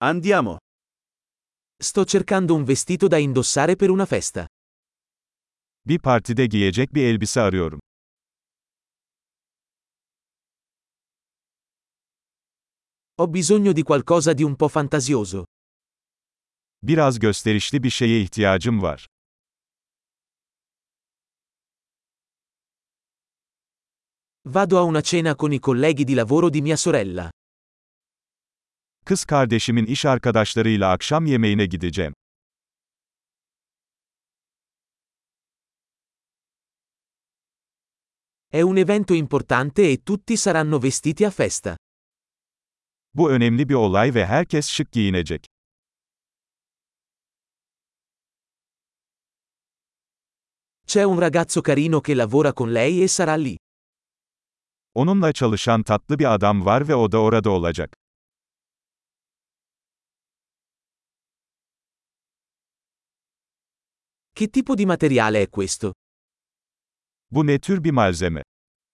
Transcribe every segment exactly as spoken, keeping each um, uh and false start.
Andiamo. Sto cercando un vestito da indossare per una festa. Bir partide giyecek bir elbise arıyorum. Ho bisogno di qualcosa di un po' fantasioso. Biraz gösterişli bir şeye ihtiyacım var. Vado a una cena con i colleghi di lavoro di mia sorella. Kız kardeşimin iş arkadaşlarıyla akşam yemeğine gideceğim. È un evento importante e tutti saranno vestiti a festa. Bu önemli bir olay ve herkes şık giyinecek. C'è un ragazzo carino che lavora con lei e sarà lì. Onunla çalışan tatlı bir adam var ve o da orada olacak. Che tipo di materiale è questo? Bu ne tür bir malzeme?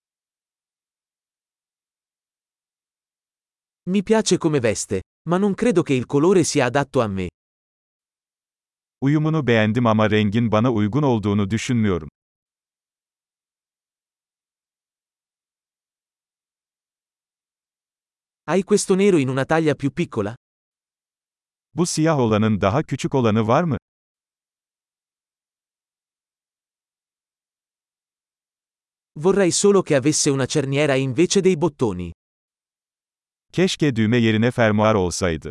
Mi piace come veste, ma non credo che il colore sia adatto a me. Uyumunu beğendim ama rengin bana uygun olduğunu düşünmüyorum. Hai questo nero in una taglia più piccola? Bu siyah olanın daha küçük olanı var mı? Vorrei solo che avesse una cerniera invece dei bottoni. Keşke düğme yerine fermuar olsaydı.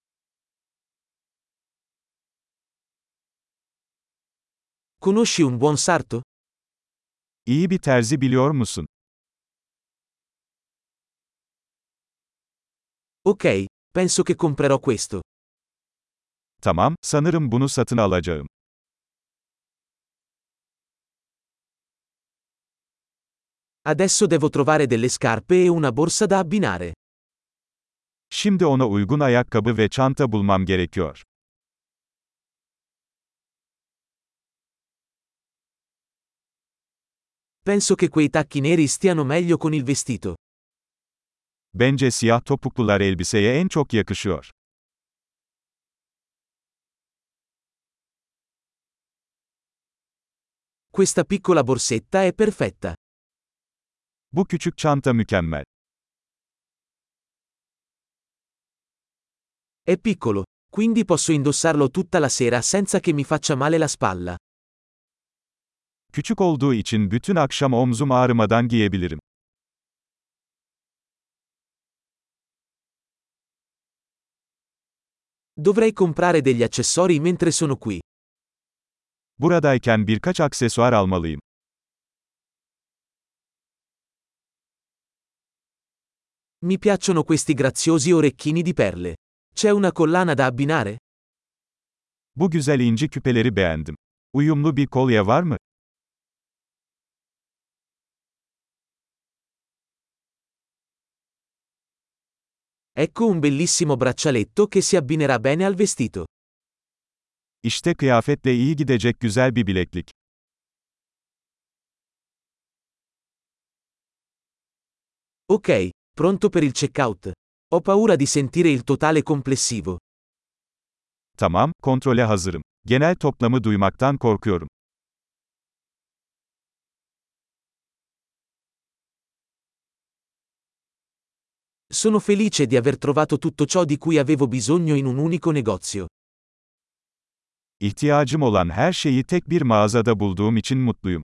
Conosci un buon sarto? İyi bir terzi biliyor musun? Ok, penso che comprerò questo. Tamam, sanırım bunu satın alacağım. Adesso devo trovare delle scarpe e una borsa da abbinare. Şimdi ona uygun ayakkabı ve çanta bulmam gerekiyor. Penso che quei tacchi neri stiano meglio con il vestito. Bence siyah topuklular elbiseye en çok yakışıyor. Questa piccola borsetta è perfetta. Bu küçük çanta mükemmel. È piccolo, quindi posso indossarlo tutta la sera senza che mi faccia male la spalla. Küçük olduğu için bütün akşam omzum ağrımadan giyebilirim. Dovrei comprare degli accessori mentre sono qui. Buradayken birkaç aksesuar almalıyım. Mi piacciono questi graziosi orecchini di perle. C'è una collana da abbinare? Bu güzel inci küpeleri beğendim. Uyumlu bir kolye var mı? Ecco un bellissimo braccialetto che si abbinerà bene al vestito. İşte kıyafetle iyi gidecek güzel bir bileklik. Ok, pronto per il checkout. Ho paura di sentire il totale complessivo. Tamam, kontrole hazırım. Genel toplamı duymaktan korkuyorum. Sono felice di aver trovato tutto ciò di cui avevo bisogno in un unico negozio. İhtiyacım olan her şeyi tek bir mağazada bulduğum için mutluyum.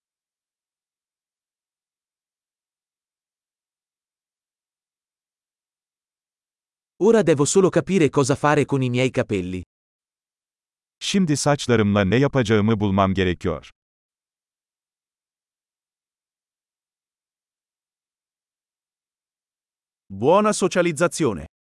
Ora devo solo capire cosa fare con i miei capelli. Şimdi saçlarımla ne yapacağımı bulmam gerekiyor. Buona socializzazione.